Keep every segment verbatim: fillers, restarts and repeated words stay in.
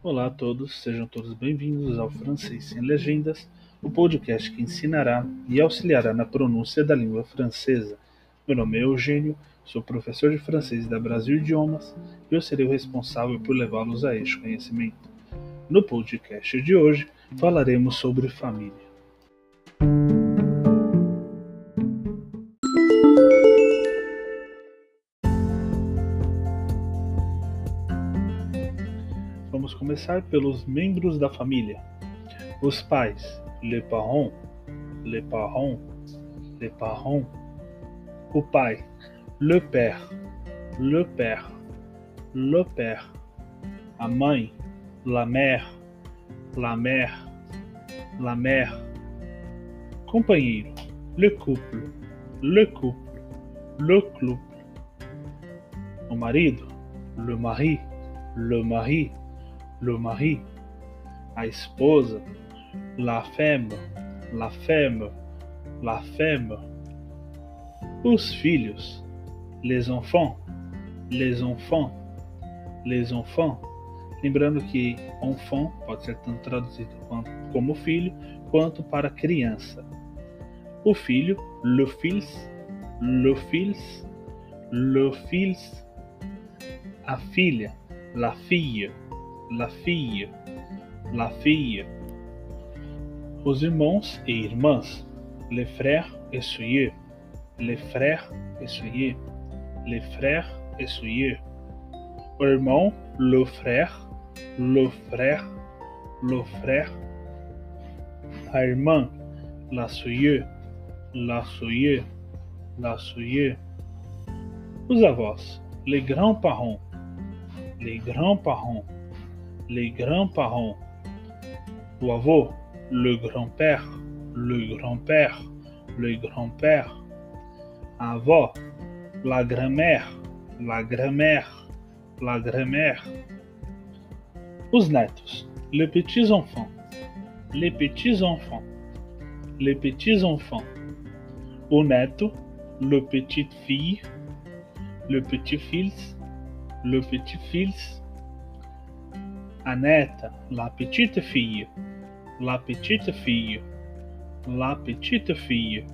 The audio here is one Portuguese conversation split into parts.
Olá a todos, sejam todos bem-vindos ao Francês Sem Legendas, o podcast que ensinará e auxiliará na pronúncia da língua francesa. Meu nome é Eugênio, sou professor de francês da Brasil Idiomas e eu serei o responsável por levá-los a este conhecimento. No podcast de hoje, falaremos sobre família. Vamos começar pelos membros da família. Os pais, les parents, les parents, les parents. O pai, le père, le père, le père. A mãe, la mère, la mère, la mère. Companheiro, le couple, le couple, le couple. O marido, le mari, le mari, le mari. A esposa, la femme, la femme, la femme. Os filhos, les enfants, les enfants, les enfants. Lembrando que enfant pode ser tanto traduzido como filho, quanto para criança. O filho, le fils, le fils, le fils. A filha, la fille, la fille, la fille. Os irmãos e irmãs, les frères et sœurs, les frères et sœurs, les frères et sœurs. O irmão, le frère, le frère, le frère. A irmã, la sœur, la sœur, la sœur. Os avós, les grands-parents, les grands-parents, les grands-parents. O avô, le grand-père, le grand-père, le grand-père. A avó, la grand-mère, la grand-mère, la grand-mère. Os netos, les petits-enfants, les petits-enfants, les petits-enfants. O neto, le petite-fille, le petit-fils, le petit-fils. A neta, la petite-fille, la petite-fille, la petite-fille.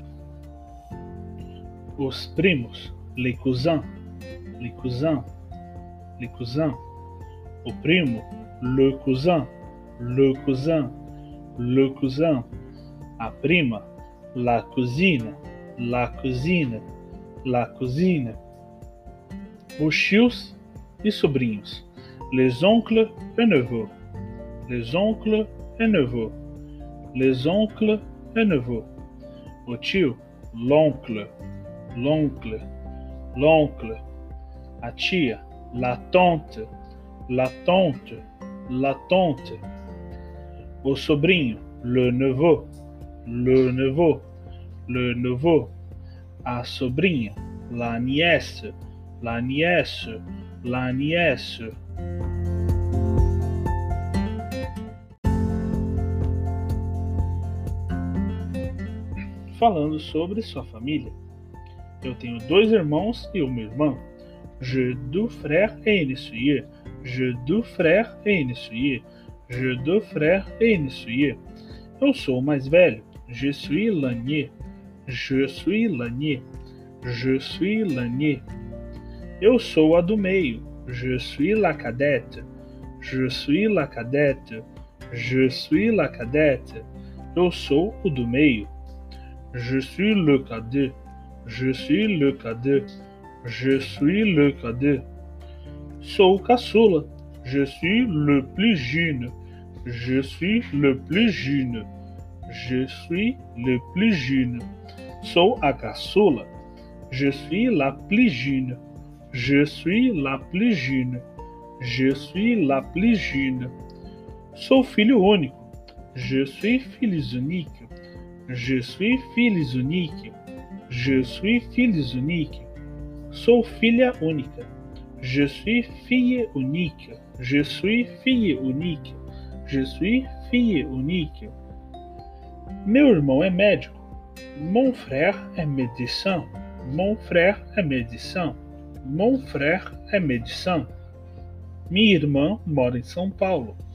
Os primos, les cousins, les cousins, les cousins. O primo, le cousin, le cousin, le cousin. A prima, la cousine, la cousine, la cousine. Os tios e sobrinhos, les oncles et neveux, les oncles et neveux, les oncles et neveux. O tio, l'oncle, l'oncle, l'oncle. A tia, la tante, la tante, la tante. O sobrinho, le neveu, le neveu, le neveu. A sobrinha, la nièce, la nièce, la nièce. Falando sobre sua família. Eu tenho dois irmãos e uma irmã. J'ai deux frères et une sœur. J'ai deux frères et une sœur. J'ai deux frères et une sœur. Eu sou o mais velho. Je suis l'aîné. Je suis l'aîné. Je suis l'aîné. Eu sou a do meio. Je suis la cadette. Je suis la cadette. Je suis la cadette. Eu sou o do meio. Je suis le cadet. Je suis le cadet. Je suis le cadet. Sou caçula. Je suis le plus jeune. Je suis le plus jeune. Je suis le plus jeune. Sou a caçula. Je suis la plus jeune. Je suis la plus jeune. Je suis la plus jeune. Sou filho único. Je suis fils unique. Je suis fils unique. Je suis fils unique. Sou filha única. Je suis fille unique. Je suis fille unique. Je suis fille unique. Meu irmão é médico. Mon frère est médecin. Mon frère est médecin. Mon frère est médecin. Minha irmã mora em São Paulo.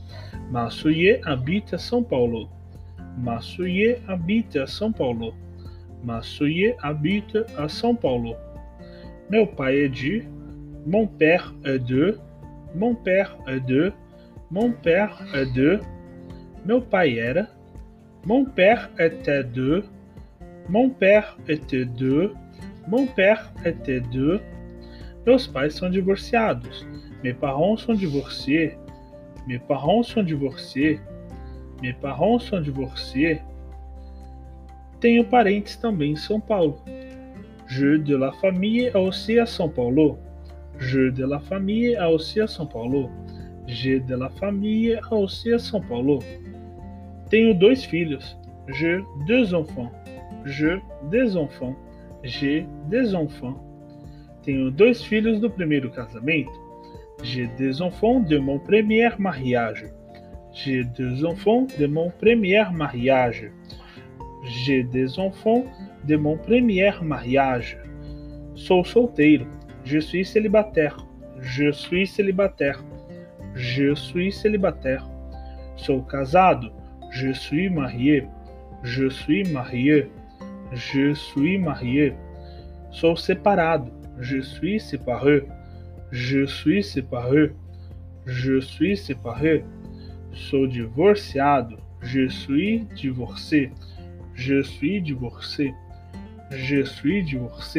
Massuye habite à São Paulo. Massuye habite à São Paulo. Massuye habite à São Paulo. Meu pai é de. Mon père est de. Mon père est de. Mon père est de. Meu pai era. Mon père était de. Mon père était de. Mon père était de. Meus pais são divorciados. Mes parents sont divorcés. Mes parents sont divorcés. Mes parents sont divorcés. Tenho parentes também em São Paulo. Je de la famille aussi à São Paulo. Je de la famille aussi à São Paulo. J'ai de la famille aussi à São Paulo. Tenho dois filhos. Je deux enfants. Je des enfants. J'ai des enfants. Tenho dois filhos do primeiro casamento. J'ai des enfants de mon premier mariage. J'ai deux enfants de mon premier mariage. J'ai des enfants de mon premier mariage. Sou solteiro. Je suis célibataire. Je suis célibataire. Je suis célibataire. Sou casado. Je suis marié. Je suis marié. Je suis marié. Sou separado. Je suis séparé. Je suis séparé. Je suis séparé. Sou divorciado. Je suis divorcé. Je suis divorcé. Je suis divorcé.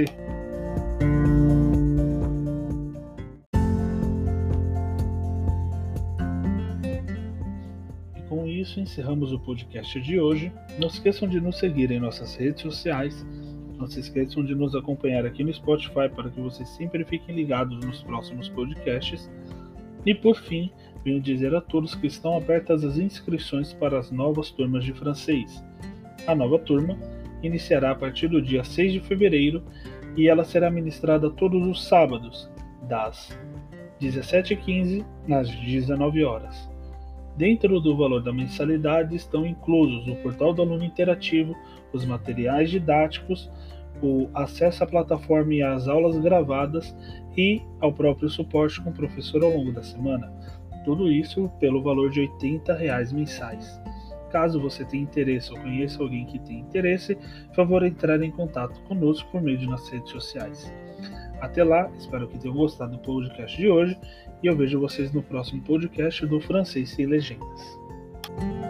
E com isso encerramos o podcast de hoje. Não se esqueçam de nos seguir em nossas redes sociais. Não se esqueçam de nos acompanhar aqui no Spotify para que vocês sempre fiquem ligados nos próximos podcasts. E por fim, venho dizer a todos que estão abertas as inscrições para as novas turmas de francês. A nova turma iniciará a partir do dia seis de fevereiro e ela será ministrada todos os sábados, das dezessete e quinze às dezenove horas. Dentro do valor da mensalidade estão inclusos o portal do aluno interativo, os materiais didáticos, o acesso à plataforma e às aulas gravadas e ao próprio suporte com o professor ao longo da semana. Tudo isso pelo valor de oitenta reais mensais. Caso você tenha interesse ou conheça alguém que tenha interesse, por favor entrar em contato conosco por meio de nossas redes sociais. Até lá, espero que tenham gostado do podcast de hoje e eu vejo vocês no próximo podcast do Francês Sem Legendas.